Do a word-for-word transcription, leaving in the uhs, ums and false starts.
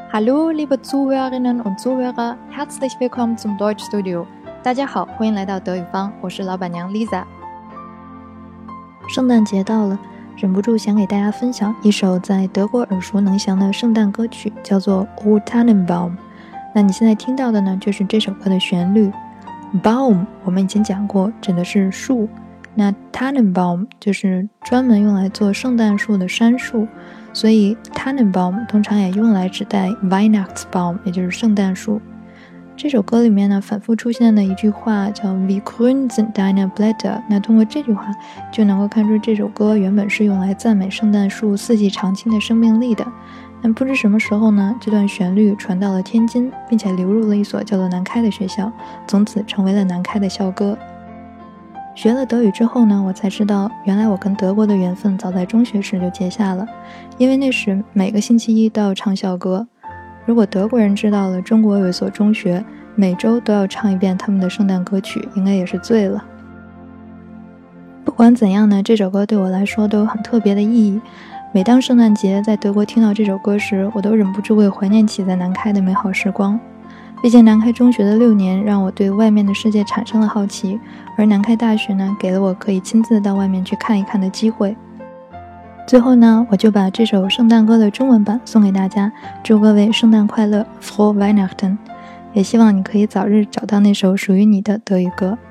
Hallo, liebe Zuhörerinnen und Zuhörer, herzlich willkommen zum Deutschstudio. 大家好，欢迎来到德语坊，我是老板娘 Lisa。圣诞节到了，忍不住想给大家分享一首在德国耳熟能详的圣诞歌曲，叫做 O Tannenbaum。那你现在听到的呢，就是这首歌的旋律。Baum 我们以前讲过，指的是树。那 Tannenbaum 就是专门用来做圣诞树的杉树，所以 Tannenbaum 通常也用来指代 Weihnachtsbaum， 也就是圣诞树。这首歌里面呢，反复出现的一句话叫 Wie grün sind deine Blätter， 那通过这句话就能够看出这首歌原本是用来赞美圣诞树四季常青的生命力的。但不知什么时候呢，这段旋律传到了天津，并且流入了一所叫做南开的学校，从此成为了南开的校歌。学了德语之后呢，我才知道原来我跟德国的缘分早在中学时就结下了，因为那时每个星期一都要唱校歌。如果德国人知道了中国有一所中学每周都要唱一遍他们的圣诞歌曲，应该也是醉了。不管怎样呢，这首歌对我来说都有很特别的意义。每当圣诞节在德国听到这首歌时，我都忍不住会怀念起在南开的美好时光。毕竟南开中学的六年让我对外面的世界产生了好奇，而南开大学呢，给了我可以亲自到外面去看一看的机会。最后呢，我就把这首圣诞歌的中文版送给大家，祝各位圣诞快乐 Frohe Weihnachten， 也希望你可以早日找到那首属于你的德语歌。